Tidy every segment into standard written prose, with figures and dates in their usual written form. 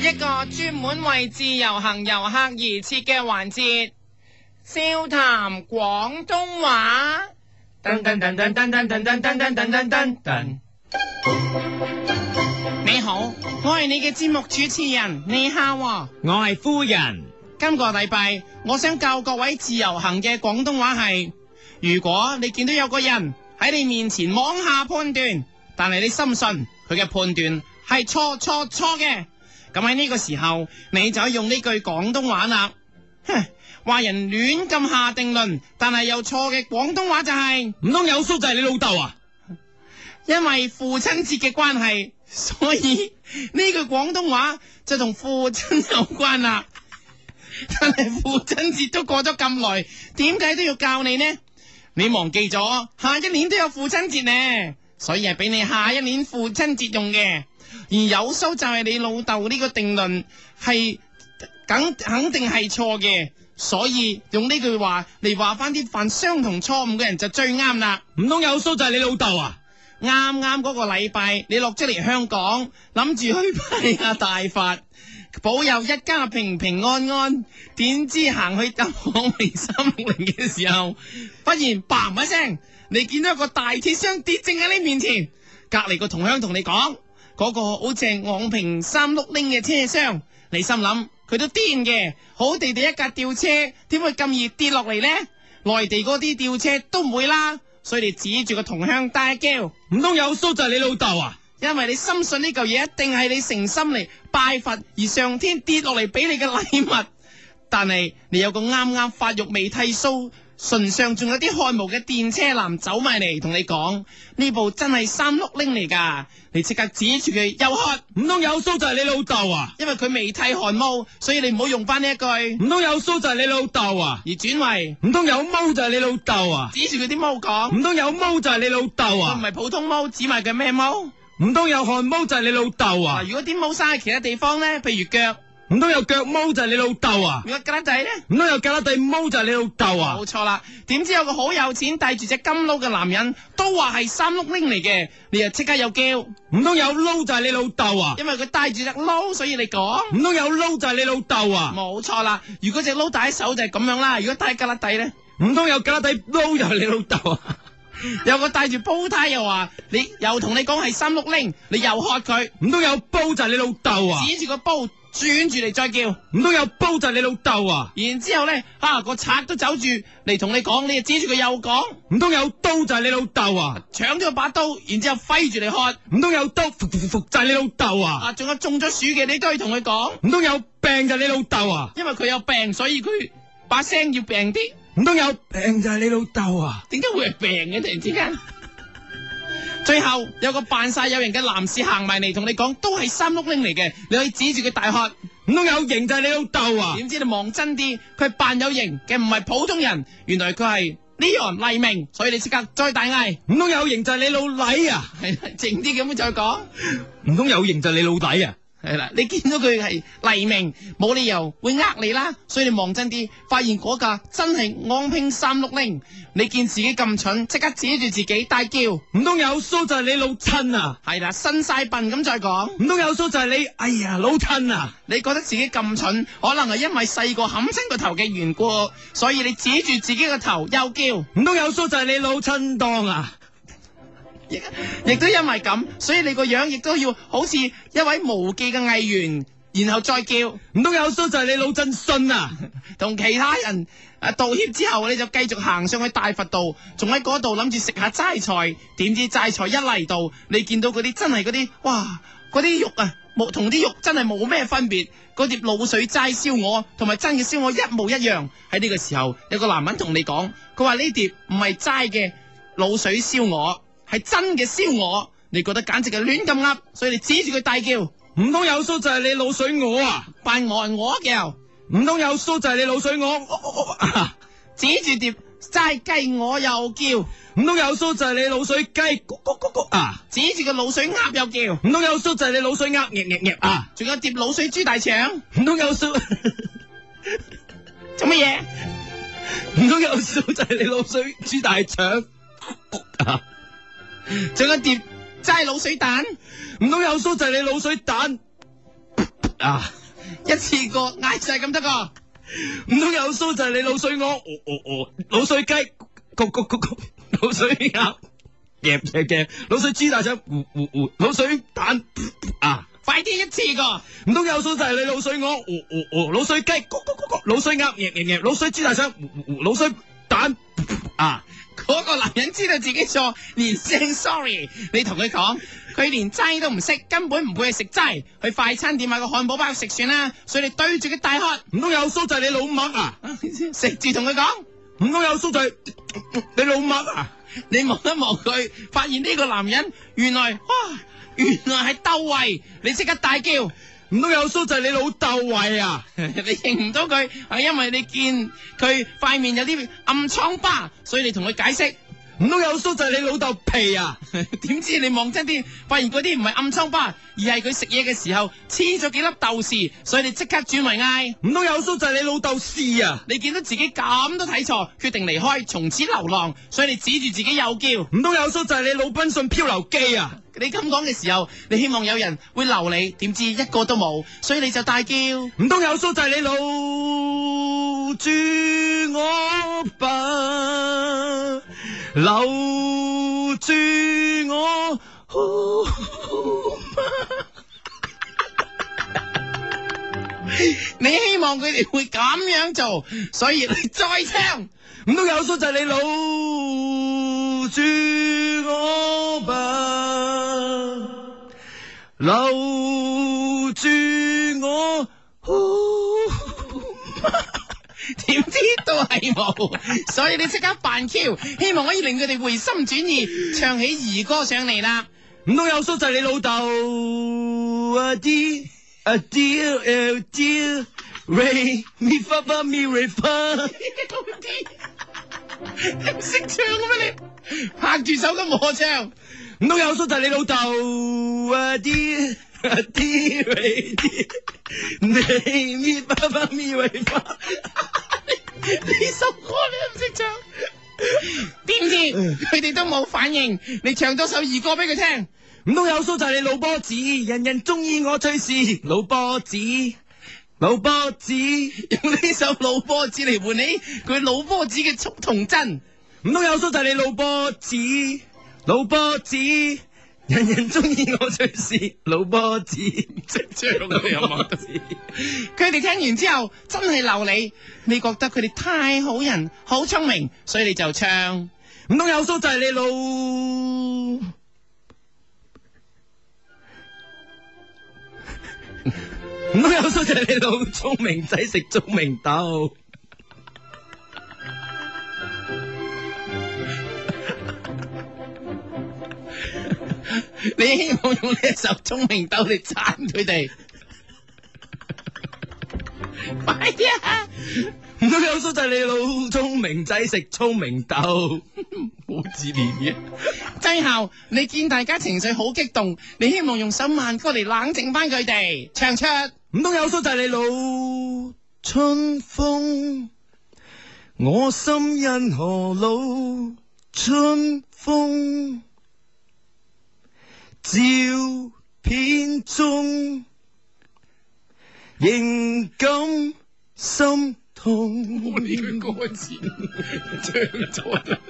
一個專門為自由行遊客而設嘅環節，笑談廣東話。噔噔噔噔噔噔噔噔噔噔噔噔。你好，我係你嘅節目主持人，你好啊， 我係夫人。 今個禮拜我想教各位自由行嘅廣東話係：如果你見到有個人喺你面前妄下判斷，但係你深信佢嘅判斷係錯嘅，咁喺呢個時候你就可以用呢句廣東話啦。話人亂咁下定論，但係又錯嘅廣東話就係唔通有叔就係你老豆啊？ 因為父親節嘅關係，所以呢句廣東話就同父親有關啦。但係父親節都過咗咁耐，點解都要教你呢？你忘記咗下一年都有父親節呢，所以係俾你下一年父親節用嘅。而有數就係你老豆呢個定論係肯定係錯嘅，所以用呢句話嚟話翻啲犯相同錯誤嘅人就最啱啦。 唔通有數就係你老豆啊？ 啱啱嗰個禮拜你落咗嚟香港，諗住去拜下大佛，保佑一家平平安安，點知行去搭往明360嘅時候，忽然嘭一聲，你見到一個大鐵箱跌正喺你面前，隔籬個同鄉同你講，嗰個好似係昂平360嘅車廂，你心諗佢都癲嘅，好地地一架吊車，點會咁易跌落嚟呢？內地嗰啲吊車都唔會啦，所以你指住個同鄉大叫， 唔通有叔就係你老豆啊？ 因為你深信呢嚿嘢一定係你誠心嚟拜佛而上天跌落嚟俾你嘅禮物，但係你有個啱啱發育未剃鬚，唇上仲有啲汗毛嘅電車男走埋嚟同你講，呢部真係360嚟噶，你即刻指住佢又喝， 唔通有叔就係你老豆啊？ 因為佢未剃汗毛，所以你唔好用翻呢一句， 唔通有叔就係你老豆啊？ 而轉為唔通有毛就係你老豆啊？ 指住佢啲毛講， 唔通有毛就係你老豆佢唔啊？ 係普通毛，指埋佢咩毛？ 唔通有汗毛就係你老豆啊？ 如果啲毛生喺其他地方咧，譬如腳， 唔通有腳毛就係你老豆啊？ 如果胳肋底咧， 唔通有胳肋底毛就係你老豆啊？ 冇錯啦。點知有個好有錢帶住隻金撈嘅男人都話係360嚟嘅，你又即刻又叫， 唔通有撈就係你老豆啊？ 因為佢帶住隻撈，所以你講唔通有撈就係你老豆啊？ 冇錯啦。如果隻撈帶喺手就係咁樣啦，如果帶喺胳肋底咧， 唔通有胳肋底撈就係你老豆啊？ 有個帶住煲呔又話你又同你講係360，你又喝佢， 唔通有煲就係你老豆啊？ 指住個煲轉住嚟再叫， 唔通有煲就係你老豆啊？ 然之後咧個賊都走住嚟同你講，你就指住佢又講， 唔通有刀就係你老豆啊？ 搶咗把刀，然之後揮住嚟喝， 唔通有刀服就係你老豆啊？ 仲有中咗暑嘅你都可以同佢講， 唔通有病就係你老豆啊？ 因為佢有病，所以佢把聲要病啲。 唔通有病就係你老豆啊？ 點解會係病嘅？突然之間，最後有個扮晒有型嘅男士行埋嚟同你講，都係360嚟嘅，你可以指住佢大喝， 唔通有型就係你老豆啊？ 點知你望真啲，佢係扮有型嘅，唔係普通人，原來佢係Leon黎明，所以你即刻再大嗌， 唔通有型就係你老禮啊？ 係啦，靜啲咁再講， 唔通有型就係你老底啊？ 係啦，你見到佢係黎明，冇理由會呃你啦，所以你望真啲，發現嗰架真係昂平360，你見自己咁蠢，即刻指住自己大叫， 唔通有鬚就係你老親啊？ 係啦，伸晒笨咁再講， 唔通有鬚就係你，哎呀老親啊？ 你覺得自己咁蠢，可能係因為細個冚親個頭嘅緣故，所以你指住自己個頭又叫， 唔通有鬚就係你老親當啊？ 亦都因為咁，所以你個樣亦都要好似一位無記嘅藝員，然後再叫， 唔通有鬚就係你老真信啊？ 同其他人道歉之後，你就繼續行上去大佛道，仲喺嗰度諗住食下齋菜，點知齋菜一嚟到，你見到嗰啲真係嗰啲，哇，嗰啲肉啊，同啲肉真係冇咩分別，嗰碟滷水齋燒鵝同埋真嘅燒鵝一模一樣。喺呢個時候，有個男人同你講，佢話呢碟唔係齋嘅滷水燒鵝，係真嘅燒鵝，你覺得簡直係亂咁噏，所以你指住佢大叫， 唔通有鬚就係你滷水鵝啊？ 扮鵝嘅， 唔通有鬚就係你滷水鵝？ 指住碟齋雞我又叫， 唔通有鬚就係你滷水雞？咕咕咕咕啊！ 指住個滷水鴨又叫， 唔通有鬚就係你滷水鴨？啊！ 仲有碟滷水豬大腸， 唔通有鬚？ 做乜嘢？ 唔通有鬚就係你滷水豬大腸？啊！ 仲有碟齋滷水蛋， 唔通有鬚就係你滷水蛋？啊！ 一次過嗌晒咁得個？ 唔通有鬚就係你滷水鵝，滷水雞，滷水鴨，夾，滷水豬大腸，滷水蛋啊！ 快啲一次過！ 唔通有鬚就係你滷水鵝，滷水雞，滷水鴨，滷水豬大腸，滷水蛋啊！ 嗰個男人知道自己錯，連聲 sorry。你同佢講，佢連齋都唔識，根本唔會去食齋。去快餐店買個漢堡包食算啦。所以你對住佢大喝， 唔通有鬚就係你老麥啊！ 食住同佢講， 唔通有鬚就係你老麥啊！ 你望一望佢，發現呢個男人原來係竇唯，你即刻大叫。 唔通有鬚就係你老竇唯啊！ 你認唔到佢，係因為你見佢塊面有啲暗瘡疤，所以你同佢解釋。 唔通有鬚就係你老豆皮啊？ 點知你望真啲，發現嗰啲唔係暗瘡疤，而係佢食嘢嘅時候黐咗幾粒豆豉，所以你即刻轉為嗌。 唔通有鬚就係你老豆豉啊？ 你見到自己咁都睇錯，決定離開，從此流浪，所以你指住自己又叫。 唔通有鬚就係你魯賓遜漂流記啊？ 你咁講嘅時候，你希望有人會留你，點知一個都冇，所以你就大叫。 唔通有鬚就係你留住我吧，留住我。 你希望佢哋會咁樣做，所以你再唱。 唔通有鬚就係你留住我吧，留住我。 點知都係冇，所以你即刻扮 Q， 希望可以令佢哋回心轉意，唱起兒歌上嚟啦。 唔通有鬚就係你老豆啊啲啊啲啊啲 Ray mi fa fa mi Ray fa， 你唔識唱嘅咩你？拍住手咁和唱。 唔通有鬚就係你老豆啊啲啊啲 Ray 啲 Ray mi fa fa mi Ray fa， 呢首歌你都唔識唱，點知佢哋都冇反應？你唱多首兒歌俾佢聽。 唔通有鬚就係你老波子，人人中意我隨時老波子，老波子用呢首老波子嚟換你佢老波子嘅速同真。 唔通有鬚就係你老波子，老波子，人人中意我隨時老波子， 識唱嘅有冇？佢哋聽完之後真係留你，你覺得佢哋太好人好聰明，所以你就唱。 唔通有鬚就係你老，唔通有鬚就係你老聰明仔食聰明豆。 你希望用呢一首聰明豆嚟讚佢哋？快啲啊！ 唔通有鬚就係你老聰明仔食聰明豆， 冇自憐嘅。最後你見大家情緒好激動，你希望用首慢歌嚟冷靜翻佢哋，唱出。 唔通有鬚就係你老春風，我心因何老春風，照片中仍感心痛。 我呢句歌詞唱錯咗。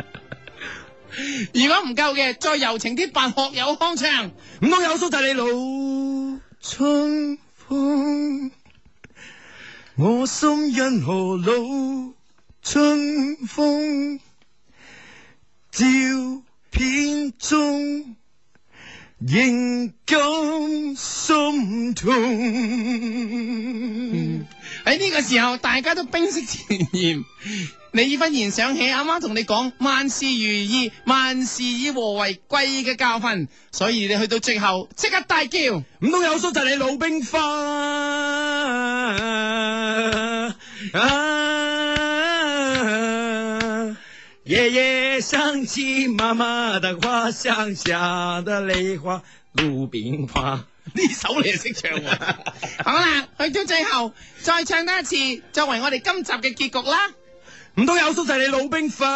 如果唔夠嘅，再柔情啲扮學友康唱。 唔通有鬚就係你老春風，我心因何老春風，照片中仍感心痛。 喺呢個時候，大家都冰釋前嫌。你忽然想起阿媽同你講萬事如意，萬事以和為貴嘅教訓，所以你去到最後即刻大叫。 唔通有鬚就係你老兵花夜夜想起媽媽的話，鄉下的梨花魯冰花。 呢首你係識唱喎。好啦，去到最後再唱多一次，作為我哋今集嘅結局啦。 唔通有鬚就係你老兵花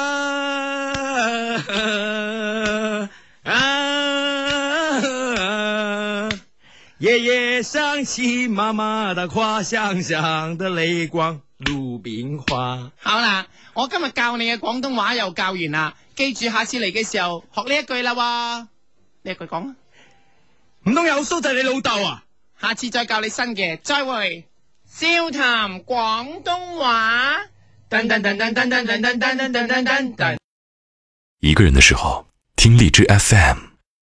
夜夜想起媽媽的話，香香的淚光，魯冰花。 好啦，我今日教你嘅廣東話又教完啦，記住下次嚟嘅時候學呢一句啦喎，呢一句講啊， 唔通有蘇就係你老豆啊？ 下次再教你新嘅，再會。笑談廣東話。噔噔噔噔噔噔噔噔噔噔噔噔。 一個人的時候，聽荔枝 FM。